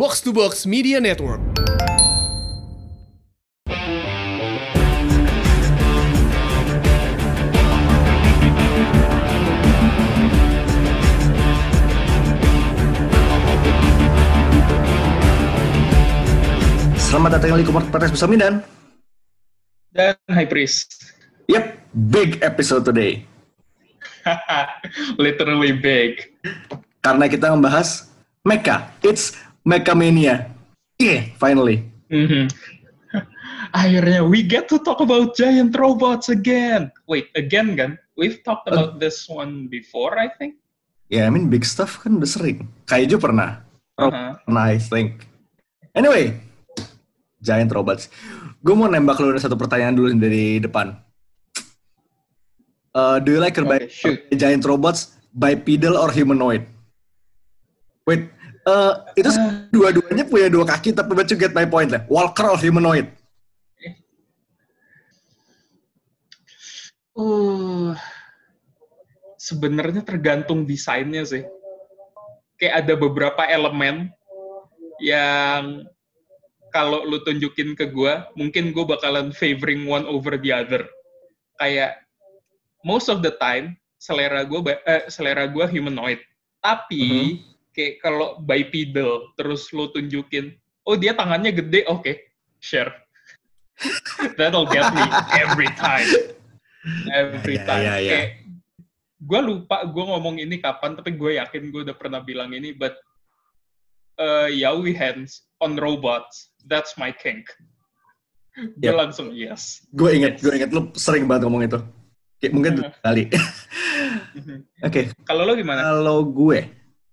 Box to Box Media Network. Selamat datang kembali ke podcast bersama Mindan dan High Priest. Yep, big episode today. Literally big. Karena kita membahas Mecha. It's Mecha Mania. Yeah, finally. Akhirnya we get to talk about giant robots again. Wait, again kan? We've talked about this one before, I think. Yeah, I mean big stuff kan udah sering. Kaiju pernah. Pernah, I think. Anyway, giant robots. Gue mau nembak lu satu pertanyaan dulu dari depan. Do you like giant robots bipedal or humanoid? Wait, itu dua-duanya punya dua kaki, tapi but you get my point lah. Walker or humanoid? Sebenarnya tergantung desainnya sih. Kayak ada beberapa elemen yang kalau lu tunjukin ke gue, mungkin gue bakalan favoring one over the other. Kayak most of the time selera gue humanoid. Tapi kayak kalau bipedal terus lu tunjukin, oh dia tangannya gede, okay, share. That'll get me every time. Every time. Kayak gue lupa gue ngomong ini kapan, tapi gue yakin gue udah pernah bilang ini, but yaoi hands on robots, that's my kink. Gue langsung yes. Gue inget lu sering banget ngomong itu. Kayak mungkin kali. Oke. Kalau lo gimana? Kalau gue,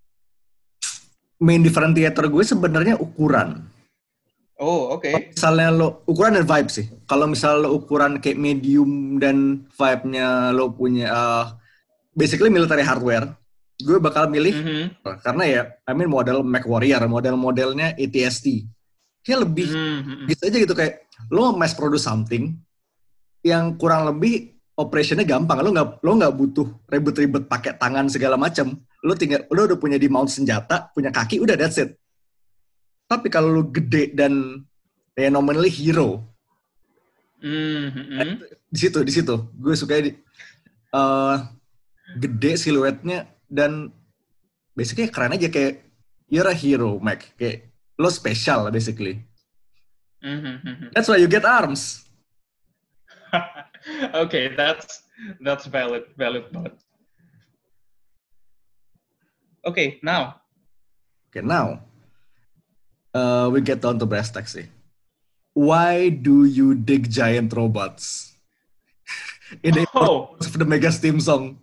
main differentiator gue sebenarnya ukuran. Oh, oke. Okay. Misalnya lo ukuran dan vibe sih. Kalau misalnya lo ukuran kayak medium dan vibe-nya lo punya basically military hardware, gue bakal milih karena ya, I mean model MechWarrior, model-modelnya AT-ST. Kayak lebih gitu aja gitu, kayak lo mass produce something yang kurang lebih operationnya gampang. Lo nggak butuh ribet-ribet pakai tangan segala macam. Lo udah punya di mount senjata, punya kaki, udah that's it. Tapi kalau lo gede dan ya nominally hero, di situ gue suka gede siluetnya dan basically keren aja, kayak you're a hero, Mac. Kayak lo special basically. That's why you get arms. Okay, that's valid but okay, now we get down to brass tacks sih. Why do you dig giant robots? In the of the Mega Steam song.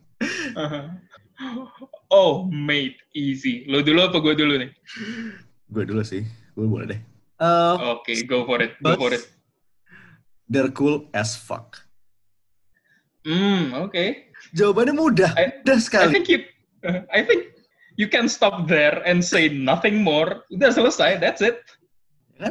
Oh, mate, easy. Lo dulu apa gue dulu nih? Gue dulu sih. Gue boleh deh. Okay, go for it. They're cool as fuck. Okay. Jawabannya mudah sekali. I think you can stop there and say nothing more. Udah selesai, that's it. Kan?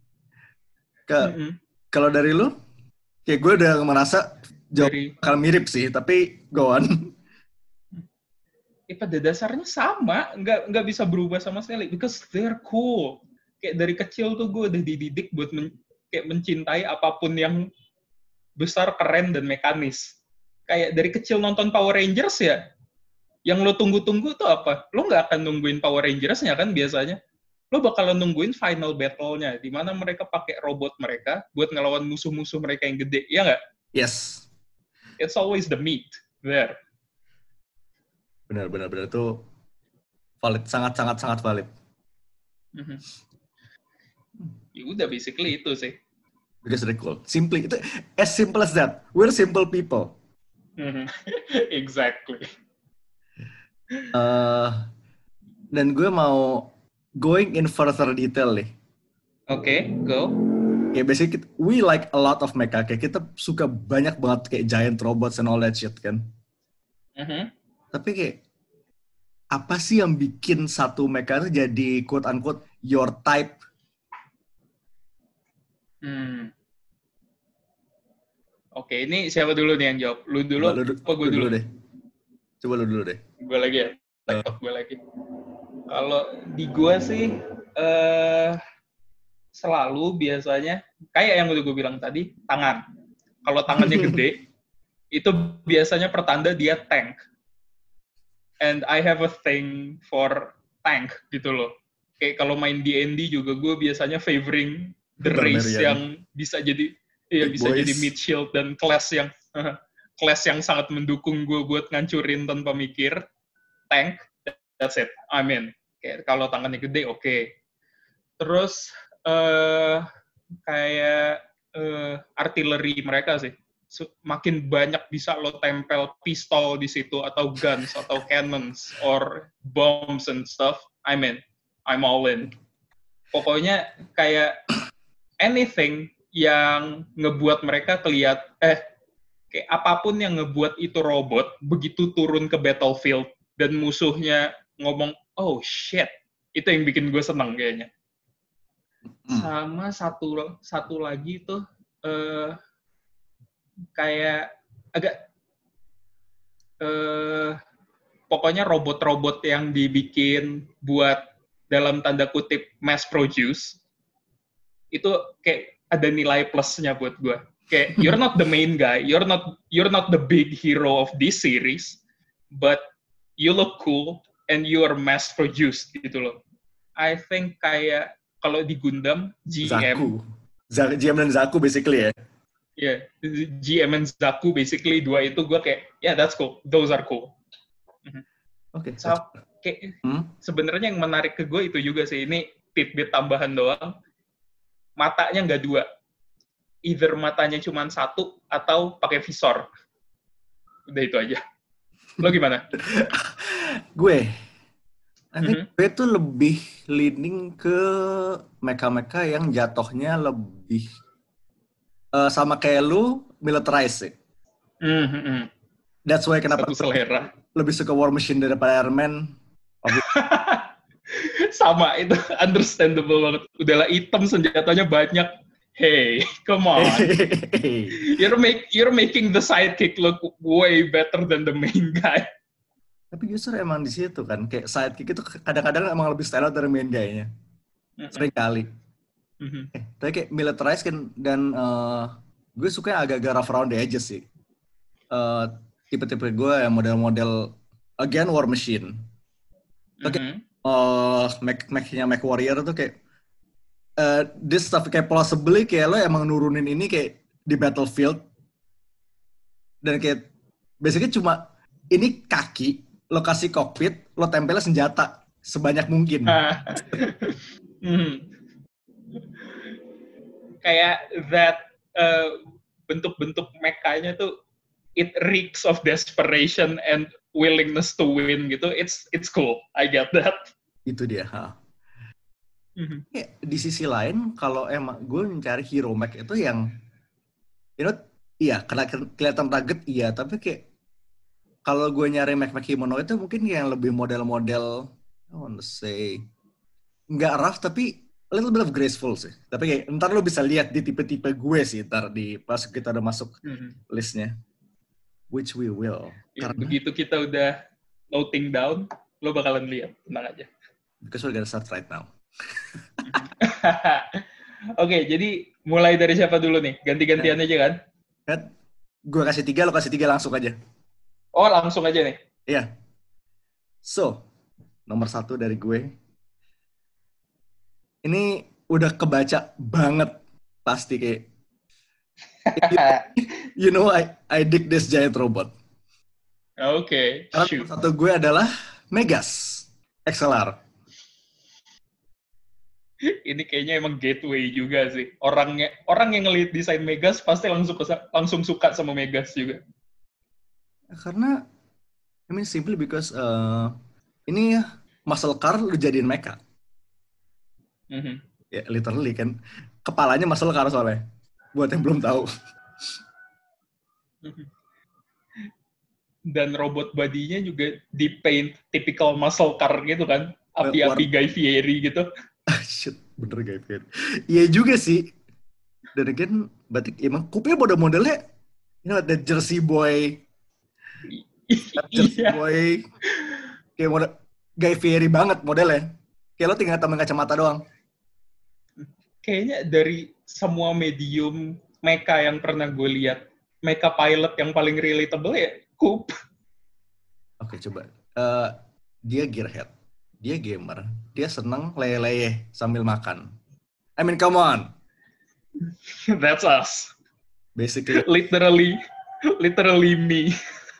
Kalau dari lu, kayak gue udah merasa bakal mirip sih, tapi go on. Pada dasarnya sama, nggak bisa berubah sama sekali, because they're cool. Kayak dari kecil tuh gue udah dididik buat kayak mencintai apapun yang besar, keren, dan mekanis. Kayak dari kecil nonton Power Rangers ya, yang lo tunggu-tunggu tuh apa? Lo nggak akan nungguin Power Rangers-nya kan biasanya. Lo bakalan nungguin final battle-nya, di mana mereka pakai robot mereka buat ngelawan musuh-musuh mereka yang gede, ya nggak? Yes. It's always the meat there. Benar itu valid, sangat valid. Ya udah, basically itu sih. Because they're cool. Simply, itu as simple as that. We're simple people. Exactly. Dan gue mau going in further detail nih. Okay, go. Ya basically we like a lot of mecha. Kayak kita suka banyak banget kayak giant robots and all that shit kan. Tapi kayak apa sih yang bikin satu mecha itu jadi quote unquote your type? Oke, ini siapa dulu nih yang jawab? Lu dulu apa gue dulu? Deh. Coba lu dulu deh. Gue lagi ya? Gue lagi. Kalau di gue sih, Selalu biasanya, kayak yang udah gue bilang tadi, tangan. Kalau tangannya gede, itu biasanya pertanda dia tank. And I have a thing for tank gitu loh. Kayak kalau main D&D juga gue biasanya favoring the race yang bisa jadi jadi mid shield dan class yang sangat mendukung gue buat ngancurin tanpa mikir. Tank, that's it. I mean, kayak kalau tangannya gede, oke. Terus kayak artileri mereka sih. Makin banyak bisa lo tempel pistol di situ atau guns atau cannons or bombs and stuff. I mean, I'm all in. Pokoknya kayak anything yang ngebuat mereka kayak apapun yang ngebuat itu robot begitu turun ke battlefield dan musuhnya ngomong, oh shit, itu yang bikin gue seneng kayaknya. Sama satu lagi tuh kayak agak pokoknya robot-robot yang dibikin buat dalam tanda kutip mass produce itu kayak ada nilai plusnya buat gue. Kayak you're not the main guy, you're not the big hero of this series, but you look cool and you are mass produced gitu loh. I think kayak kalau di Gundam, GM dan Zaku basically ya. Yeah, GM and Zaku basically dua itu gue kayak, yeah that's cool, those are cool. Oke. So, kayak sebenarnya yang menarik ke gue itu juga sih, ini tidbit tambahan doang. Matanya nggak dua, either matanya cuma satu atau pakai visor. Udah itu aja. Lo gimana? Gue tuh lebih leaning ke mecha-mecha yang jatuhnya lebih sama kayak lu, militarize sih. That's why kenapa lebih suka War Machine daripada Iron Man. Sama, itu understandable banget. Udahlah hitam, senjatanya banyak. Hey, come on. You're making the sidekick look way better than the main guy. Tapi justru emang di situ kan, kayak sidekick itu kadang-kadang emang lebih style dari main guy-nya. Sering kali. Tapi kayak militarize kan, dan gue suka yang agak-agak rough around the edges sih. Tipe-tipe gue yang model-model again War Machine. Kayak Mech-nya Mech Warrior tuh kayak this stuff kayak possibly kayak lo emang nurunin ini kayak di battlefield dan kayak basically cuma ini kaki, lo kasih cockpit, lo tempelnya senjata sebanyak mungkin. Kayak that bentuk-bentuk mekanya tuh it reeks of desperation and willingness to win gitu. It's cool. I get that. Itu dia. Ya, di sisi lain kalau emang gue mencari hero mech itu yang iya karena kelihatan rugged iya, tapi kayak kalau gue nyari mech kimono itu mungkin yang lebih model-model I want to say nggak rough tapi a little bit of graceful sih. Tapi kayak ntar lo bisa lihat di tipe-tipe gue sih ntar di pas kita udah masuk listnya. Which we will. Ya, karena begitu kita udah noting down, lo bakalan lihat. Tenang aja. Because we're gonna start right now. Oke, jadi mulai dari siapa dulu nih? Ganti-gantian aja kan? Gue kasih 3, lo kasih 3 langsung aja. Oh, langsung aja nih? Iya. So, nomor 1 dari gue. Ini udah kebaca banget pasti kayak you know I dig this giant robot. Oke. Karena satu gue adalah Megas XLR. Ini kayaknya emang gateway juga sih. Orang yang ngelihat desain Megas pasti langsung suka sama Megas juga. Karena I mean simply because ini muscle car lu jadiin mecha. Ya literally kan kepalanya muscle car soalnya. Buat yang belum tahu. Dan robot body-nya juga di-paint typical muscle car gitu kan. Api-api Guy Fieri gitu. Shit, bener Guy Fieri. Iya juga sih. Dan again, berarti emang kupnya modelnya the Jersey Boy. Jersey Boy. Kayak model Guy Fieri banget modelnya. Kayak lo tinggal tambahin kacamata doang. Kayaknya dari semua medium mecha yang pernah gue lihat, mecha pilot yang paling relatable ya Coop. Oke, coba. Dia gearhead. Dia gamer. Dia seneng leye-leye sambil makan. I mean, come on. That's us. Basically. Literally me.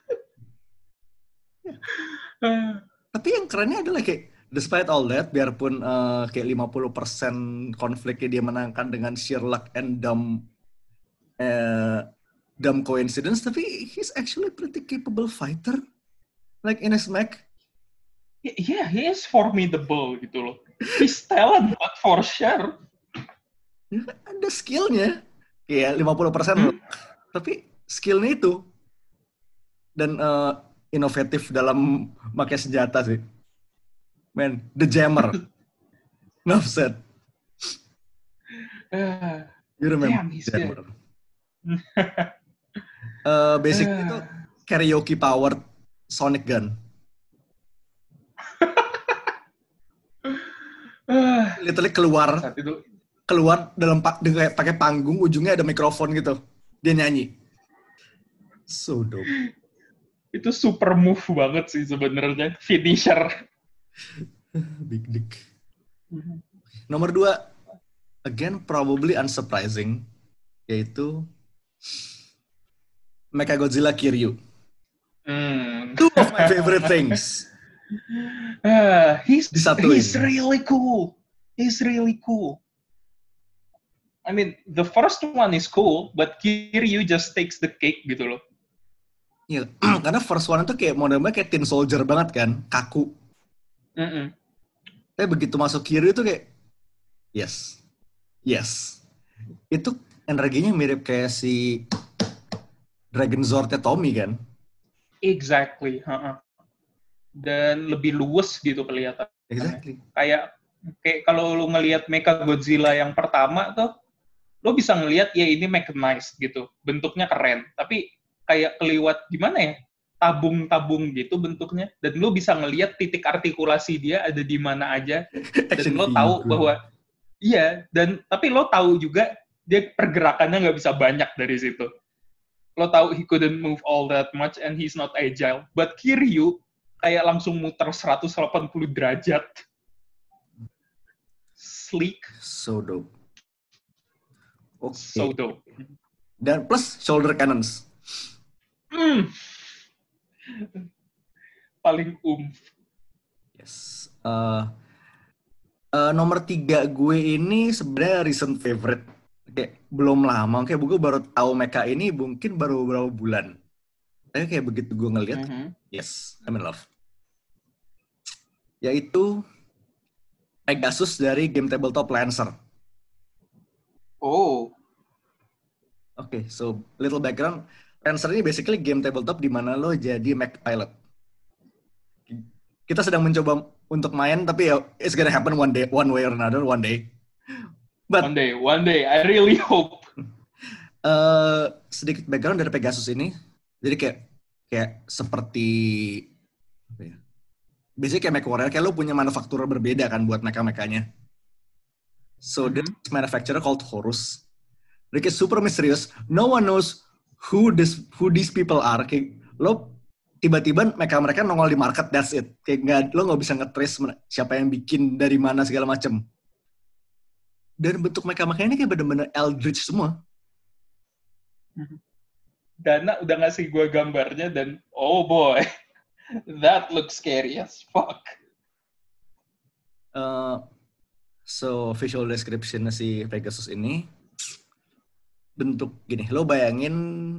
Tapi yang kerennya adalah kayak, despite all that, biarpun kayak 50% konfliknya dia menangkan dengan sheer luck and dumb coincidence, tapi he's actually pretty capable fighter. Like in his mech. Yeah, he is formidable gitu loh. He's talented for sure. Ada skillnya. Kayak 50% tapi skillnya itu. Dan inovatif dalam pakai senjata sih. Man, the jammer. Enough said. You remember the jammer. Basically itu karaoke powered sonic gun. Literally keluar dalam pakai panggung, ujungnya ada mikrofon gitu. Dia nyanyi. So dope. Itu super move banget sih sebenarnya, finisher. Big dick. Nomor 2, again probably unsurprising, yaitu Mechagodzilla Kiryu. Two of my favorite things. He's really cool. He's really cool. I mean, the first one is cool, but Kiryu just takes the cake gitu loh. Iya, karena first one itu kayak modelnya kayak tin soldier banget kan, kaku. Tapi begitu masuk Kiryu itu kayak, yes. Itu energinya mirip kayak si Dragon Zord-nya Tommy kan? Exactly. Dan lebih luwes gitu kelihatan. Exactly. Kayak kalau lu ngelihat Mechagodzilla yang pertama tuh, lo bisa ngelihat ya ini mechanized gitu, bentuknya keren. Tapi kayak keliwat gimana ya, tabung-tabung gitu bentuknya, dan lo bisa ngelihat titik artikulasi dia ada di mana aja, dan lo tahu bahwa iya, dan tapi lo tahu juga dia pergerakannya nggak bisa banyak dari situ. Lo tahu he couldn't move all that much and he's not agile, but Kiryu kayak langsung muter 180 derajat. Sleek. So dope. Okay. So dope. Dan plus shoulder cannons. Paling Yes. Nomor 3 gue ini sebenarnya recent favorite. Kayak belum lama, kayak gue baru tahu mecha ini mungkin baru beberapa bulan. Tapi kayak begitu gue ngeliat, yes, I'm in love. Yaitu Pegasus dari game tabletop Lancer. Oh. Oke, so little background. Lancer ini basically game tabletop di mana lo jadi mech pilot. Kita sedang mencoba untuk main, tapi ya it's gonna happen one way or another, one day. But one day, I really hope. Sedikit background dari Pegasus ini, jadi kayak seperti apa ya? Basically kayak MechWarrior, kayak lo punya manufaktur berbeda kan buat mecha-mechanya. So this manufacturer called Horus. Dia kayak super misterius. No one knows who these people are. Kayak lo tiba-tiba mereka nongol di market, that's it. Kayak lo nggak bisa nge-trace siapa yang bikin dari mana segala macem. Dan bentuk mereka ini kayak bener-bener eldritch semua. Dana udah ngasih gue gambarnya dan oh boy, that looks scary as fuck. So visual description si Pegasus ini bentuk gini, lo bayangin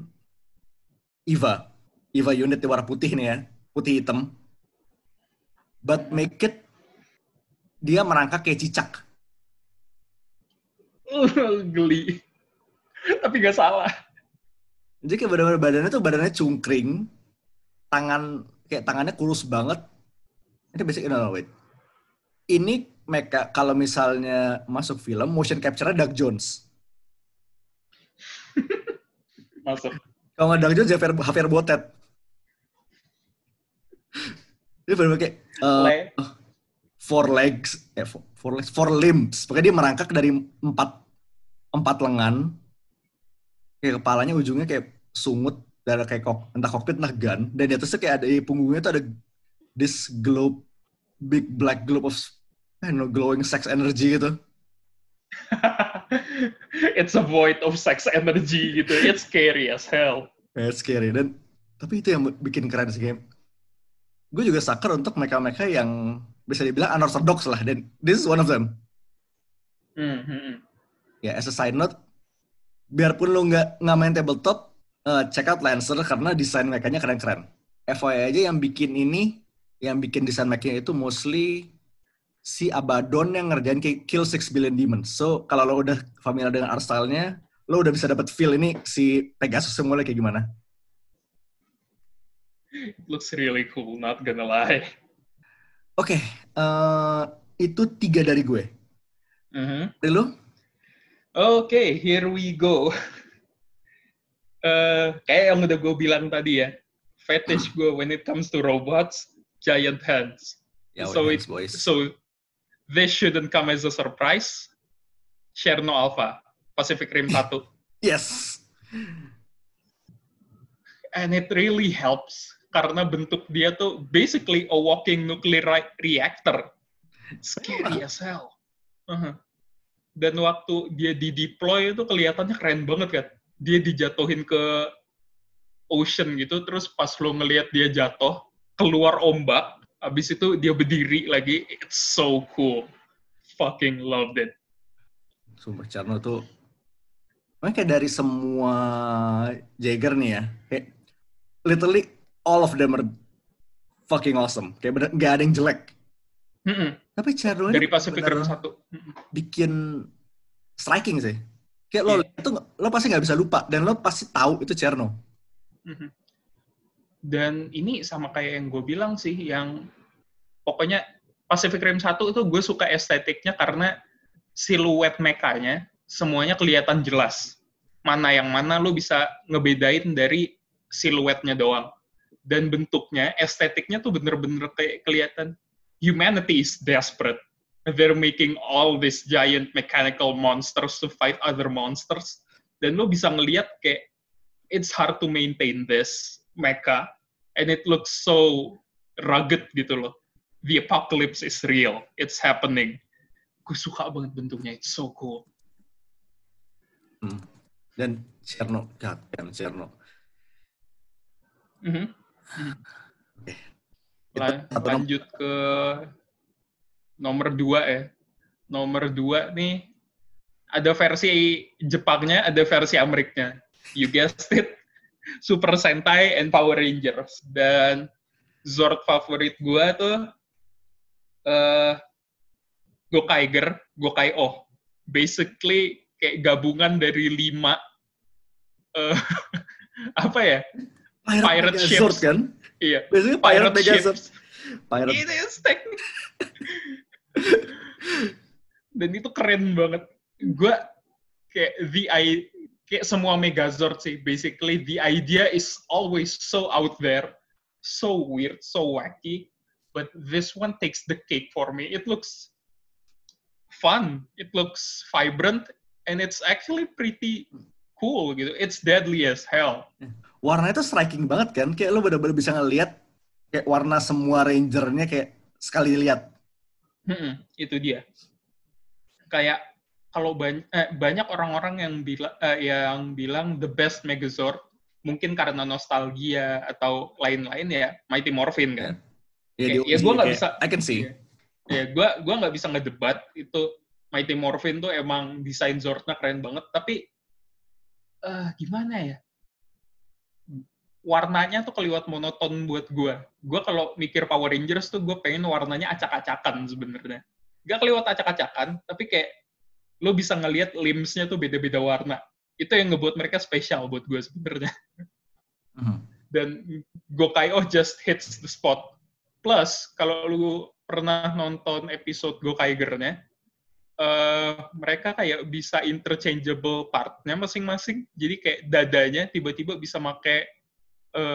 Eva unit warna putih nih ya, putih hitam, but make it dia merangkak kayak cicak. Geli, tapi gak salah. Jadi kayak benar-benar badannya cungkring, tangannya kurus banget. Ini basically wait. Ini mecha kalau misalnya masuk film motion capture-nya Doug Jones. Masuk. Kalau nggak Doug Jones, Javier Botet. Dia benar-benar kayak 4 limbs. Pokoknya dia merangkak dari 4 lengan. Kayak kepalanya ujungnya kayak sungut, dan kayak entah kokpit entah gun. Dan di atasnya kayak ada di punggungnya tuh ada this globe, big black globe of glowing sex energy gitu. It's a void of sex energy gitu. It's scary as hell. It's scary. Dan tapi itu yang bikin keren sih game. Gue juga sucker untuk mereka-mereka yang bisa dibilang unorthodox lah. Dan this is one of them. Ya, as a side note, biarpun lo nggak main tabletop, check out Lancer karena desain mekanya keren-keren. FYI aja yang bikin desain mekanya itu mostly si Abaddon yang ngerjain kayak Kill 6 Billion Demons. So, kalau lo udah familiar dengan art style-nya, lo udah bisa dapat feel ini si Pegasus mulai kayak gimana. It looks really cool, not gonna lie. Oke, itu 3 dari gue. Dari lo? Oke, here we go. Kayak yang udah gue bilang tadi ya, fetish gue when it comes to robots, giant hands. Yeah, so this shouldn't come as a surprise. Cherno Alpha, Pacific Rim 1. Yes. And it really helps karena bentuk dia tuh basically a walking nuclear reactor. Scary as hell. Dan waktu dia di-deploy itu kelihatannya keren banget kan. Dia dijatuhin ke ocean gitu, terus pas lo ngelihat dia jatuh, keluar ombak, abis itu dia berdiri lagi. It's so cool. Fucking loved it. Sumpah, Cherno tuh kayak dari semua Jaeger nih ya, kayak literally all of them are fucking awesome. Kayak bener gak ada yang jelek. Tapi Cherno dari Pacific Rim 1 bikin striking sih. Kayak lo lihat tuh, lo pasti nggak bisa lupa dan lo pasti tahu itu Cherno. Dan ini sama kayak yang gue bilang sih, yang pokoknya Pacific Rim 1 itu gue suka estetiknya karena siluet mekanya semuanya kelihatan jelas. Mana yang mana lo bisa ngebedain dari siluetnya doang. Dan bentuknya, estetiknya tuh bener-bener kayak kelihatan humanity is desperate. They're making all these giant mechanical monsters to fight other monsters. Dan lo bisa ngelihat kayak it's hard to maintain this mecha, and it looks so rugged gitu loh. The apocalypse is real. It's happening. Gue suka banget bentuknya. It's so cool. Dan Cherno, Cherno. Lanjut ke nomor 2 ya. Nomor 2 nih, ada versi Jepangnya, ada versi Amerikanya. You guessed it. Super Sentai and Power Rangers. Dan Zord favorit gue tuh Gokaiger. Basically kayak gabungan dari 5 apa ya? Pirate ships Zord, kan? Iya. Biasanya Pirate ships. It is technique. Dan itu keren banget. Gue kayak kayak semua Megazord sih. Basically the idea is always so out there, so weird, so wacky. But this one takes the cake for me. It looks fun. It looks vibrant. And it's actually pretty cool gitu. It's deadly as hell. Warnanya tuh striking banget kan. Kayak lo bener-bener bisa ngeliat kayak warna semua rangernya kayak sekali lihat. Itu dia. Kayak kalau banyak orang-orang yang bilang the best Megazord, mungkin karena nostalgia atau lain-lain ya, Mighty Morphin kan. Ya gue nggak bisa. I can see. Ya gue nggak bisa ngedebat itu. Mighty Morphin tuh emang desain Zordnya keren banget, tapi gimana ya? Warnanya tuh keliwat monoton buat gue. Gue kalau mikir Power Rangers tuh gue pengen warnanya acak-acakan sebenarnya. Gak keliwat acak-acakan, tapi kayak lo bisa ngelihat limbs-nya tuh beda-beda warna. Itu yang ngebuat mereka spesial buat gue sebenarnya. Dan Gokai-O just hits the spot. Plus, kalau lu pernah nonton episode Gokaiger-nya, mereka kayak bisa interchangeable part-nya masing-masing. Jadi kayak dadanya tiba-tiba bisa pakai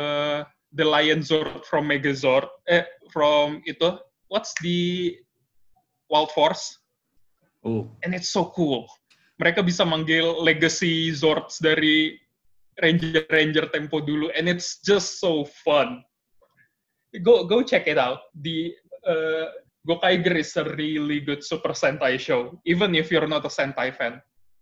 the Lion Zord from Megazord, from itu, what's the Wild Force. Oh. And it's so cool. Mereka bisa manggil legacy Zords dari Ranger Tempo dulu, and it's just so fun. Go check it out. The Gokaiger is a really good Super Sentai show, even if you're not a Sentai fan.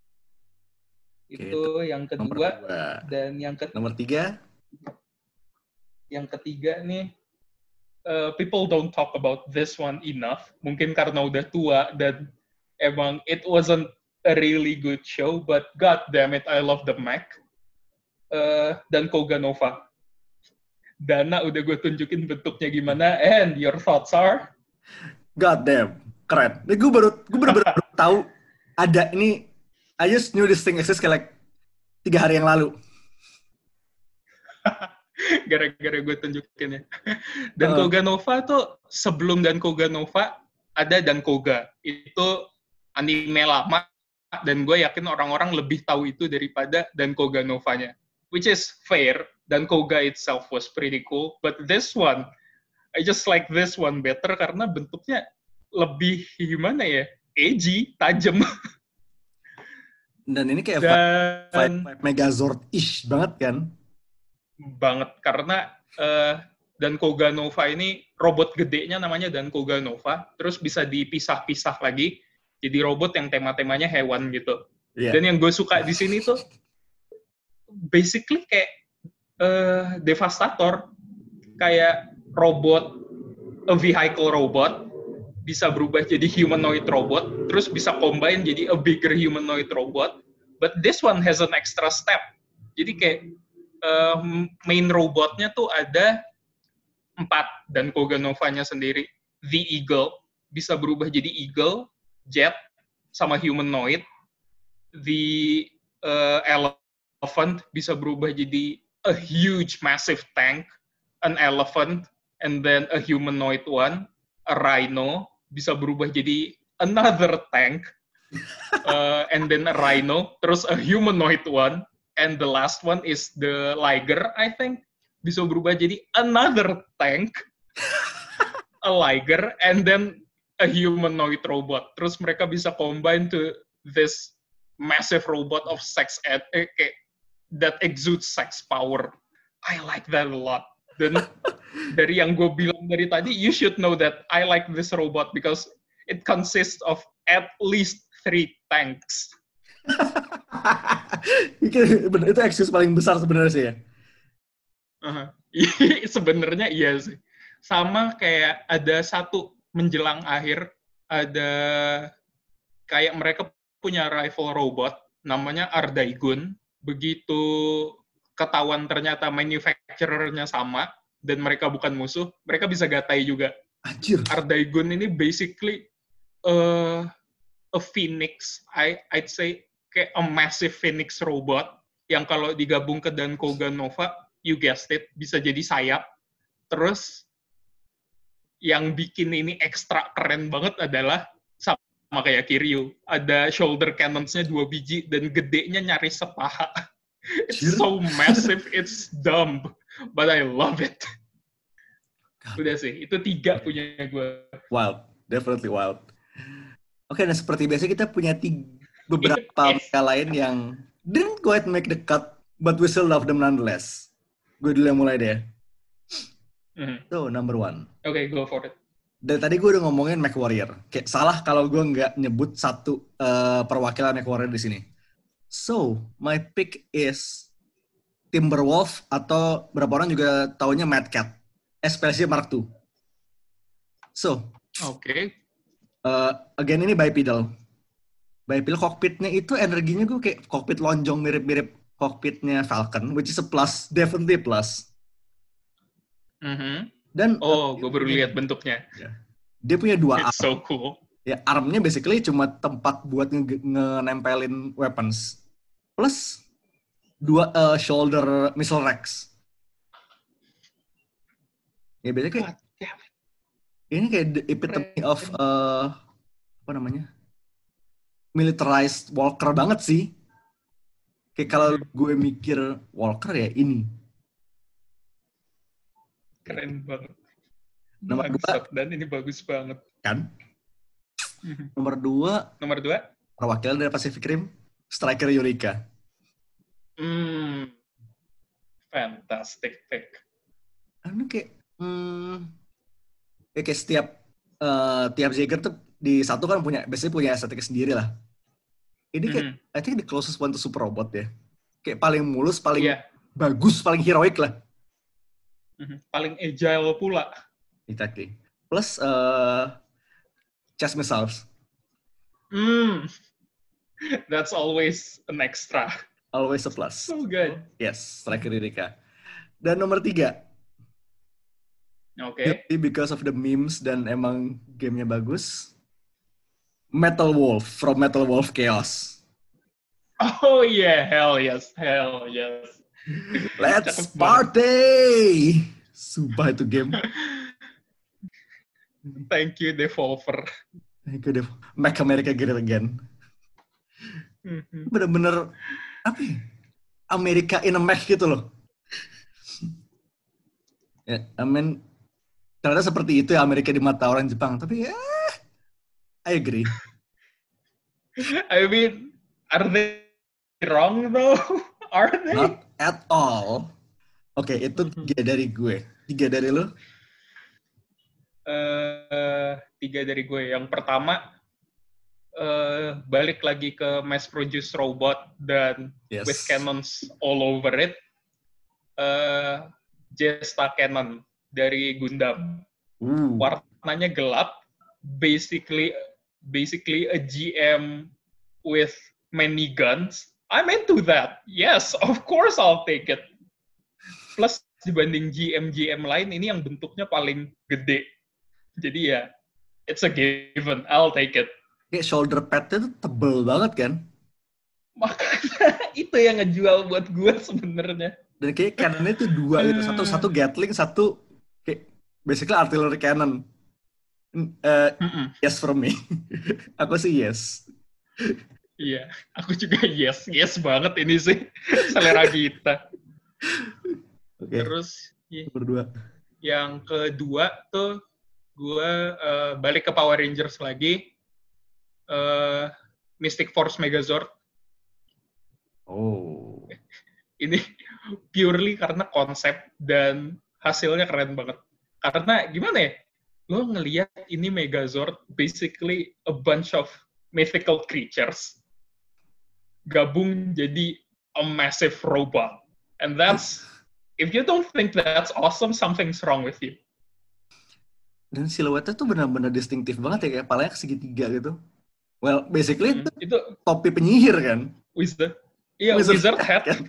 Itu yang kedua. Dan nomor 3. Yang ketiga nih, people don't talk about this one enough. Mungkin karena udah tua dan emang it wasn't a really good show, but god damn it, I love the mech. Dan Koga Nova. Dana udah gue tunjukin bentuknya gimana, and your thoughts are? God damn, keren. Gue baru tahu ada ini. I just knew this thing exists kayak 3 hari yang lalu. Gara-gara gue tunjukin ya. Dan Koga Nova tuh sebelum Dan Koga Nova ada Dan Koga. Itu anime lama dan gue yakin orang-orang lebih tahu itu daripada Dan Koga Novanya. Which is fair. Dan Koga itself was pretty cool. But this one, I just like this one better karena bentuknya lebih gimana ya? Edgy, tajam. Dan ini kayak vibe Megazord-ish banget kan? Banget, karena Dan Koga Nova ini robot gedenya namanya Dan Koga Nova, terus bisa dipisah-pisah lagi jadi robot yang tema-temanya hewan gitu. Yeah. Dan yang gue suka di sini tuh basically kayak Devastator, kayak robot, a vehicle robot, bisa berubah jadi humanoid robot, terus bisa combine jadi a bigger humanoid robot, but this one has an extra step. Jadi kayak main robotnya tuh ada 4, dan Koga Novanya sendiri. The Eagle, bisa berubah jadi Eagle, Jet, sama humanoid. The Elephant, bisa berubah jadi a huge, massive tank, an elephant, and then a humanoid one. A Rhino, bisa berubah jadi another tank, and then a Rhino, terus a humanoid one, and the last one is the Liger, I think, bisa berubah jadi another tank, a Liger, and then a humanoid robot. Terus mereka bisa combine to this massive robot of sex that exudes sex power. I like that a lot. Dan dari yang gue bilang dari tadi, you should know that I like this robot because it consists of at least 3 tanks. Itu excuse paling besar sebenarnya sih ya. Sebenarnya iya sih. Sama kayak ada satu menjelang akhir, ada kayak mereka punya rival robot namanya Ardaigun. Begitu ketahuan ternyata manufacturer-nya sama dan mereka bukan musuh, mereka bisa gatai juga. Anjir. Ardaigun ini basically a phoenix, I'd say kayak a massive phoenix robot yang kalau digabung ke Dan Koga Nova, you guessed it, bisa jadi sayap. Terus yang bikin ini ekstra keren banget adalah sama kayak Kiryu, ada shoulder cannons-nya 2 biji dan gedenya nyaris sepaha. It's so massive, it's dumb, but I love it. Udah sih, itu 3 punya gue. Wild, definitely wild. Oke, dan seperti biasa kita punya beberapa lain yang didn't quite make the cut, but we still love them nonetheless. Gue dulu yang mulai deh. So, number 1. Okay, go for it. Dari tadi gue udah ngomongin MechWarrior. Kayak salah kalau gue nggak nyebut satu perwakilan MechWarrior di sini. So, my pick is Timberwolf, atau berapa orang juga taunya Mad Cat, especially Mark II. So, again ini bipedal. Bipedal cockpitnya itu energinya gue kayak cockpit lonjong mirip-mirip cockpitnya Falcon, which is a plus, definitely a plus. Dan gue baru lihat bentuknya. Dia punya 2 arm. It's so cool. Ya, armnya basically cuma tempat buat nge-nempelin weapons. Plus 2 shoulder missile racks. Ya biasanya kayak ini kayak the epitome of apa namanya? Militarized walker banget sih. Kayak kalau gue mikir walker ya ini. Keren banget. Nomor 2. Dan ini bagus banget. Kan? Nomor 2, Nomor 2. perwakilan dari Pacific Rim, striker Eureka. Fantastic pick. Karena kayak tiap Jaeger tuh di satu kan biasanya punya estetik sendiri lah. Ini kayak, I think the closest one to Super Robot ya. Kayak paling mulus, paling bagus, paling heroic lah. Paling agile pula. Exactly. Plus, chest missiles. That's always an extra. Always a plus. So good. Yes, striker Eureka. Dan nomor 3. Oke. Because of the memes dan emang gamenya bagus. Metal Wolf from Metal Wolf Chaos. Oh yeah, hell yes. Let's party! Sumpah itu game. Thank you, Devolver. Thank you, Make America Great Again. Bener-bener, apa ya? Amerika in a mech gitu loh. Ya, I mean, ternyata seperti itu ya Amerika di mata orang Jepang. Tapi ya, I agree. I mean, are they wrong though? Are they? Not at all. Oke, itu 3 dari gue. 3 dari lo? 3 dari gue. Yang pertama, balik lagi ke mass produce robot dan with cannons all over it. Jesta Cannon dari Gundam. Warnanya gelap, basically a GM with many guns. I'm into that. Yes, of course I'll take it. Plus dibanding GM lain, ini yang bentuknya paling gede. Jadi ya, it's a given. I'll take it. Kayak shoulder pad-nya tuh tebel banget kan? Makanya itu yang ngejual buat gue sebenarnya. Dan kayak cannon-nya tuh 2 gitu. Satu Gatling, satu kayak basically artillery cannon. Yes for me. Aku sih yes. Iya, aku juga yes banget ini sih selera kita. Okay. Terus berdua. Yang kedua tuh gue balik ke Power Rangers lagi, Mystic Force Megazord. Oh. Ini purely karena konsep dan hasilnya keren banget. Karena gimana ya? Lo ngelihat ini Megazord basically a bunch of mythical creatures gabung jadi a massive robot. And that's, if you don't think that's awesome, something's wrong with you. Dan siluetnya tuh benar-benar distinktif banget ya, kayak palanya segitiga gitu. Well, basically itu topi penyihir kan? Wizard. Iya, wizard hat. Kan?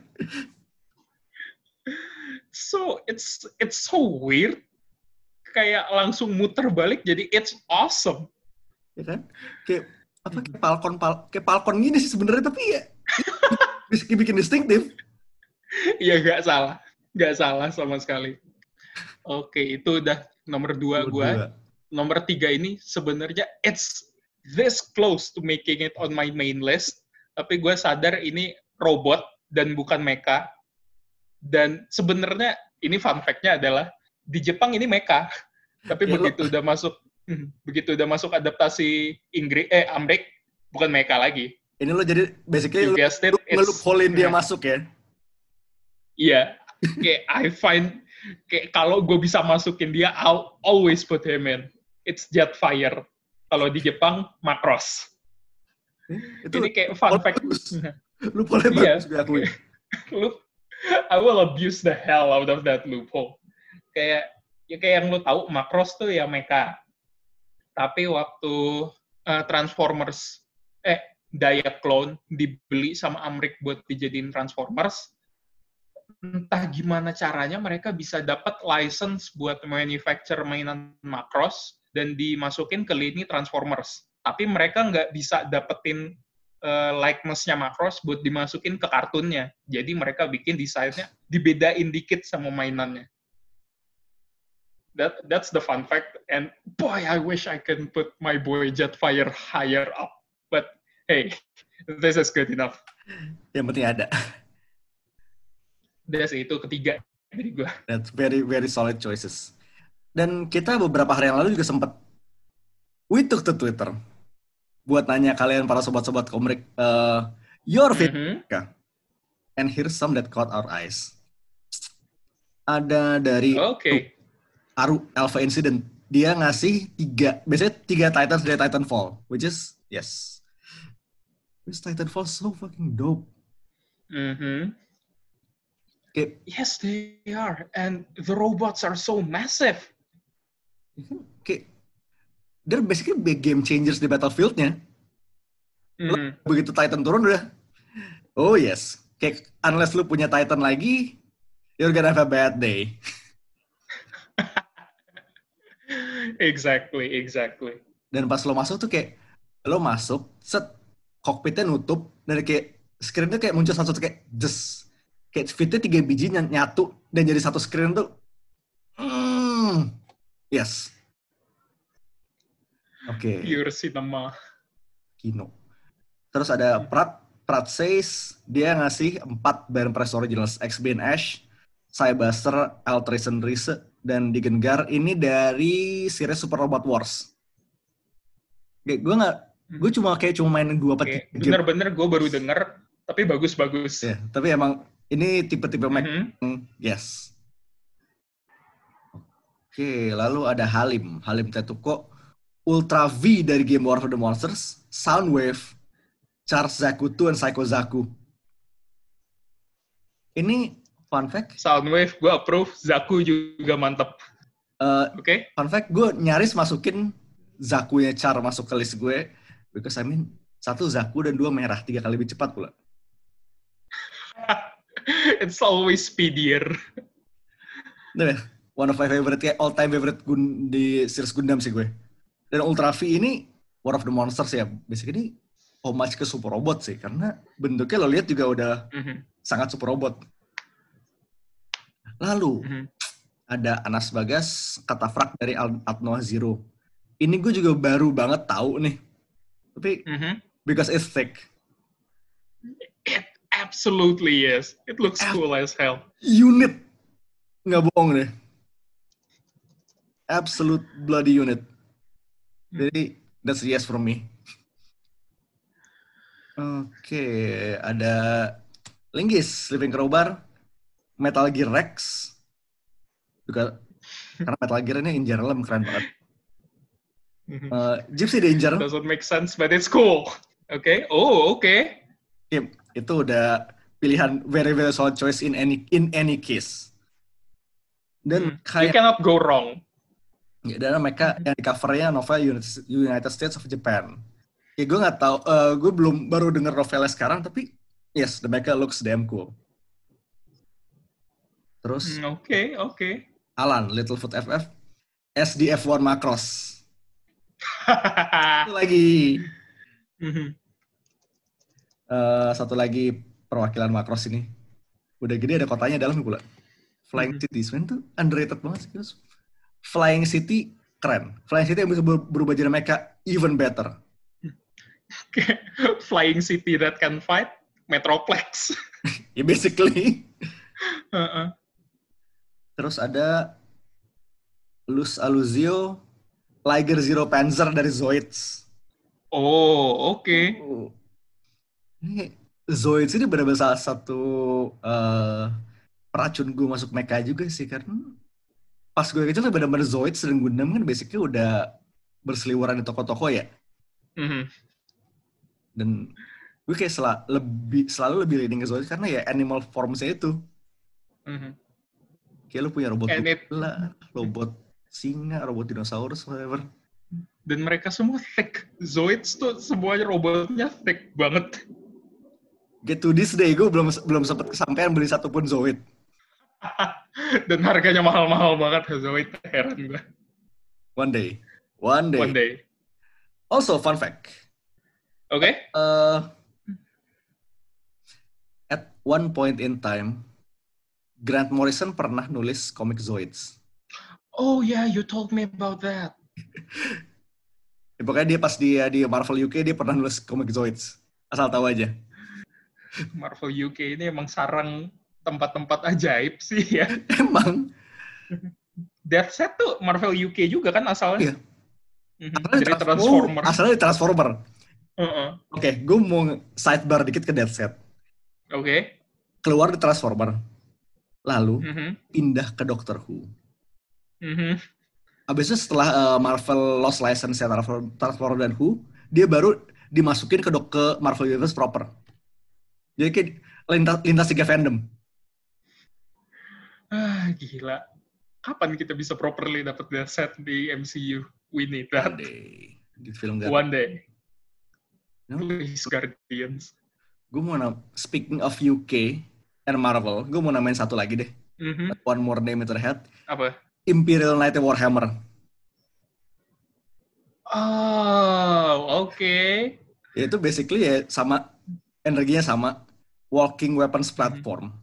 So, it's so weird. Kayak langsung muter balik, jadi it's awesome. Ya kan? Kayak Falcon gini sih sebenarnya, tapi ya bisa bikin distinktif. Iya, nggak salah sama sekali. Oke, itu udah nomor 2 gue. Nomor 3 ini sebenarnya it's this close to making it on my main list, tapi gue sadar ini robot dan bukan mecha. Dan sebenarnya ini fun fact-nya adalah di Jepang ini mecha, tapi begitu udah masuk adaptasi Amrik, bukan mecha lagi. Ini lo jadi basically lo ngeloopholein dia masuk ya? Iya, kayak kalau gue bisa masukin dia, I'll always put him in. It's Jetfire. Kalau di Jepang, Macross. Ini kayak fun fact. Loophole bagus gue akui. I will abuse the hell out of that loophole. Kayak yang lo tahu, Macross tuh ya mecha. Tapi waktu Transformers, Diaclone dibeli sama Amrik buat dijadiin Transformers, entah gimana caranya mereka bisa dapat license buat manufacture mainan Macross dan dimasukin ke lini Transformers. Tapi mereka nggak bisa dapetin likeness-nya Macross buat dimasukin ke kartunnya. Jadi mereka bikin desainnya dibedain dikit sama mainannya. That's the fun fact. And boy, I wish I can put my boy Jetfire higher up. But hey, this is good enough. Yang penting ada. That's itu ketiga dari gue. That's very, very solid choices. Dan kita beberapa hari yang lalu juga sempat, we took to Twitter. buat nanya kalian para sobat-sobat komik, your favorite and here's some that caught our eyes. Ada dari Aru Alpha Incident. Dia ngasih 3 Titans dari Titanfall, which is yes. This Titanfall so fucking dope. Okay. Yes, they are, and the robots are so massive. Okay. They're basically big game changers di Battlefield-nya. Begitu Titan turun udah, oh yes. Kayak unless lu punya Titan lagi, you're gonna have a bad day. Exactly. Dan pas lo masuk tuh kayak, lo masuk, set, cockpitnya nutup, dan kayak, screen-nya kayak muncul satu kayak, just, kayak fitnya 3 biji nyatu, dan jadi satu screen tuh, yes. Oke. Pure cinema. Kino. Terus ada Prat says, dia ngasih 4 Baron Press Originals, X-Bane Ash, Cybuster, Altration Reese, dan Digengar. Ini dari series Super Robot Wars. Gue cuma mainin 2 game. Bener-bener gue baru denger, tapi bagus-bagus. Ya, tapi emang ini tipe-tipe yes. Oke, lalu ada Halim Tetuko, Ultra V dari Game War of the Monsters, Soundwave, Charge Zaku 2, dan Psycho Zaku. Ini fun fact. Soundwave gue approve, Zaku juga mantep. Oke. Fun fact, gue nyaris masukin Zakunya Char masuk ke list gue, because 1 Zaku dan 2 merah, 3 kali lebih cepat pula. It's always speedier. Nah, one of my favorite, kayak all time favorite di series Gundam sih gue. Dan Ultra V ini War of the Monsters ya, basically homage ke Super Robot sih, karena bentuknya lo lihat juga udah sangat Super Robot. Lalu ada Anas Bagas, Katafrak dari Atnoa Zero. Ini gue juga baru banget tahu nih, tapi because it's thick. It absolutely is. It looks cool as hell. Unit, nggak bohong deh. Absolute bloody unit. Jadi that's a yes from me. Oke, ada Linggis, Living Crowbar, Metal Gear Rex. Juga karena Metal Gear ini in general keren banget. Gypsy Danger. Doesn't make sense, but it's cool. Okay. Oh, okay. Itu udah pilihan very very solid choice in any case. Dan you cannot go wrong. Ya, dan mereka yang di covernya novel United States of Japan. Ya gue nggak tahu, gue baru denger novelnya sekarang, tapi yes, the mecha looks damn cool. Terus, okay. Alan, Littlefoot FF, SDF1 Macross. Satu lagi. Satu lagi perwakilan Macross ini. Udah gede ada kotanya dalam pula. Flying City, sebenarnya tuh underrated banget sih. Flying City keren. Flying City yang bisa berubah jadi mecha even better. Flying City that can fight Metroplex. Ya basically. Terus ada Luz Aluzio, Liger Zero Panzer dari Zoids. Oh, oke. Ini Zoids ini benar-benar salah satu peracun gue masuk mecha juga sih, karena pas gue kecil tuh benar-benar Zoids dan Gundam kan basically udah berseliweran di toko-toko ya. Dan gue kayak selalu lebih leading ke Zoids karena ya animal forms-nya itu. Kayak lu punya robot gula, robot singa, robot dinosaurus, whatever. Dan mereka semua thick. Zoids tuh semuanya robotnya thick banget. Get to this day, gue belum sempat kesampaian beli satupun Zoid. Dan harganya mahal-mahal banget Zoid, heran gue. One day. Also, fun fact. Okay. At one point in time, Grant Morrison pernah nulis komik Zoids. Oh yeah, you told me about that. Ya, pokoknya dia pas dia di Marvel UK, dia pernah nulis komik Zoids. Asal tahu aja. Marvel UK ini emang sarang tempat-tempat ajaib sih ya. Emang. Deathset tuh Marvel UK juga kan asalnya? Iya. Asalnya di Transformer. Oke, gue mau sidebar dikit ke Dead Set. Oke. Keluar di Transformer, lalu pindah ke Doctor Who. Abis itu setelah Marvel lost license ya Transformer dan Who, dia baru dimasukin ke Marvel Universe proper. Jadi kayak lintas 3 fandom. Gila. Kapan kita bisa properly dapat Dead Set di MCU? We need that. One day. Di film One day. No? Please, Guardians. Gue mau speaking of UK and Marvel, gue mau namain satu lagi deh. One more name into the head. Apa? Imperial Knight Warhammer. Oh, oke. Itu basically ya sama, energinya sama. Walking weapons platform.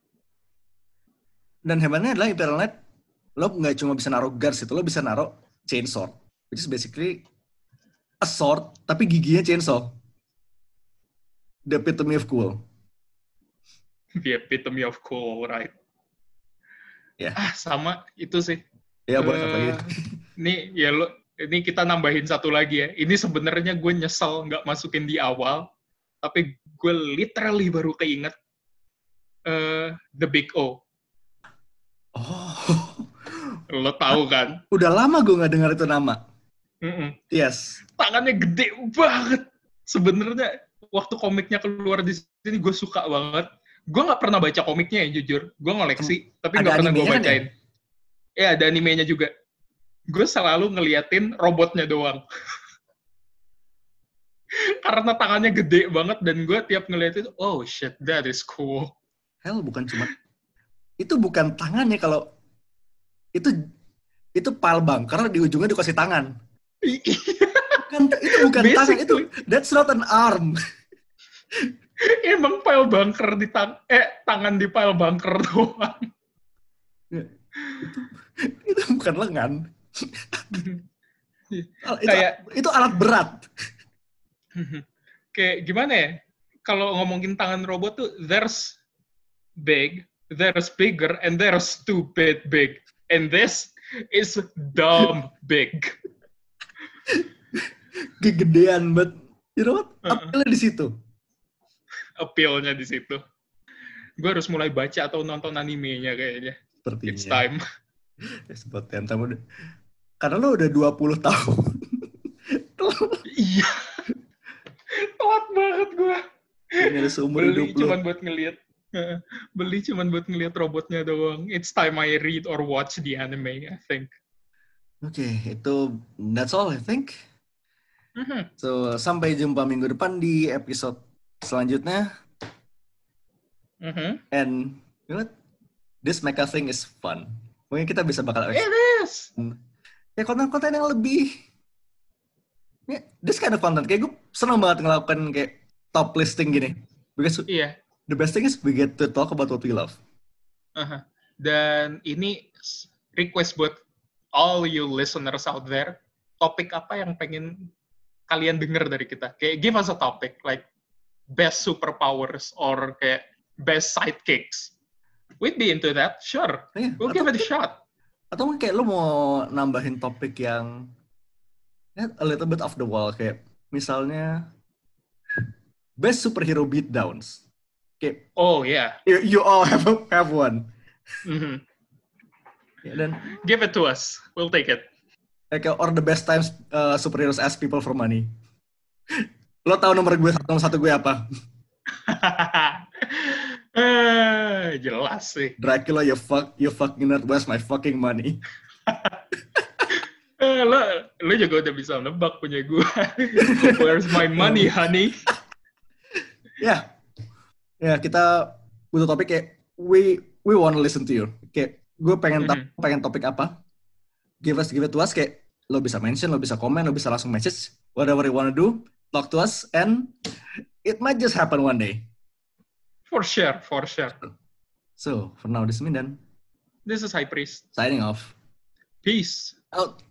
Dan hebatnya adalah Imperial Knight, lo nggak cuma bisa naruh guards itu, lo bisa naruh chainsaw. Which is basically a sword, tapi giginya chainsaw. The epitome of cool. The epitome of cool, right? Ya. Sama itu sih. Ya, boleh apa lagi? Ini kita nambahin satu lagi ya. Ini sebenarnya gue nyesel nggak masukin di awal, tapi gue literally baru keinget The Big O. Oh. Lo tahu kan? Udah lama gue nggak dengar itu nama. Yes. Tangannya gede banget. Sebenarnya waktu komiknya keluar di sini gue suka banget. Gue nggak pernah baca komiknya ya jujur. Gue ngoleksi, tapi nggak pernah gue bacain. Ya ada animenya juga. Gue selalu ngeliatin robotnya doang. Karena tangannya gede banget dan gue tiap ngeliatin, oh shit, that is cool. Hell, bukan cuma itu bukan tangannya, kalau itu pile bunker di ujungnya dikasih tangan. Itu bukan tangan, itu that's not an arm. Emang pile bunker di tangan di pile bunker doang. Itu bukan lengan. Itu alat berat. Kayak gimana ya? Kalau ngomongin tangan robot tuh, there's big, there's bigger, and there's stupid big. And this is dumb big. Kegedean, but you know what? Appeal-nya di situ. Appeal-nya di situ. Gue harus mulai baca atau nonton animenya kayaknya. Sepertinya. It's time. Sebut time. Karena lo udah 20 tahun. Iya. Telat banget gue. Beli cuman buat ngeliat robotnya doang. It's time I read or watch the anime, I think. Okay, that's all I think. So, sampai jumpa minggu depan di episode selanjutnya. And you know what? This mecha thing is fun. Mungkin kita bisa bakal... It is! Ya, konten-konten yang lebih... this kind of content. Kayak gue senang banget ngelakukan kayak top listing gini. Because the best thing is we get to talk about what we love. Dan ini request buat all you listeners out there. Topik apa yang pengen kalian denger dari kita? Kayak give us a topic, like best superpowers or kayak best sidekicks. We'd be into that, sure. Yeah, we'll give it a shot. Atau mungkin kayak lo mau nambahin topik yang a little bit off the wall, kayak misalnya best superhero beatdowns. Kayak, oh yeah, you all have one. Yeah, then give it to us, we'll take it. Like, or the best times superheroes ask people for money. Lo tahu nomor satu gue apa? Jelas sih. Dracula, you fucking nerd, where's my fucking money? Lo juga udah bisa nebak punya gue. Where's my money, honey? Ya, kita butuh topik kayak we want to listen to you. Kayak gue pengen topik apa? Give it to us. Kayak lo bisa mention, lo bisa komen, lo bisa langsung message. Whatever you want to do, talk to us, and it might just happen one day. For sure. So, for now, this is Mindan. This is High Priest. Signing off. Peace. Out.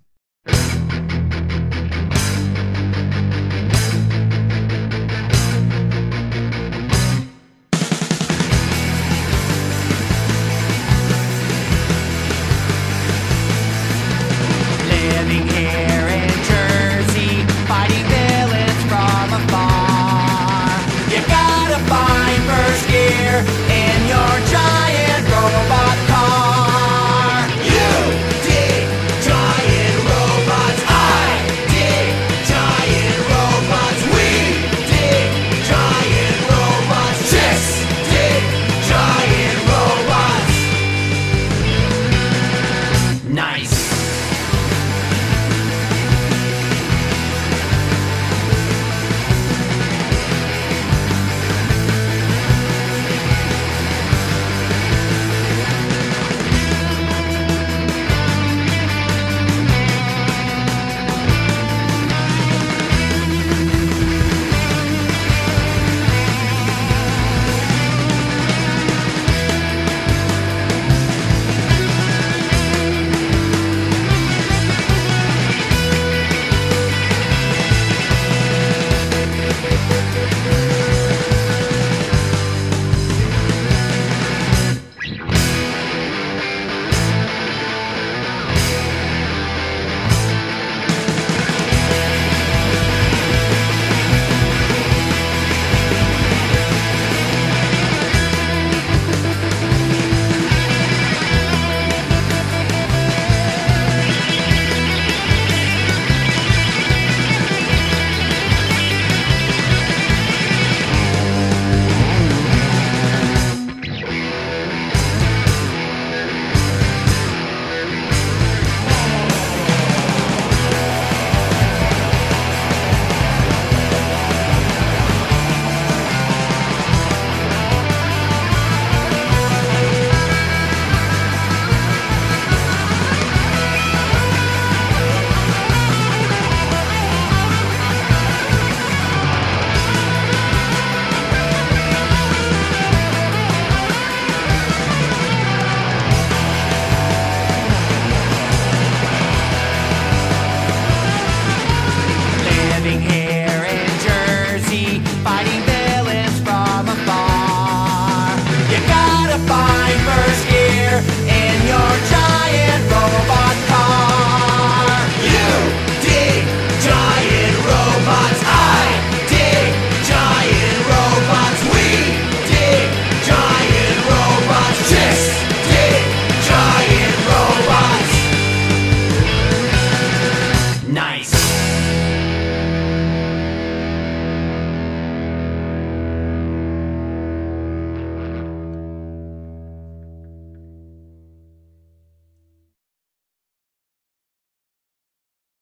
Living here in Jersey, fighting villains from afar. find first gear in your giant robot car.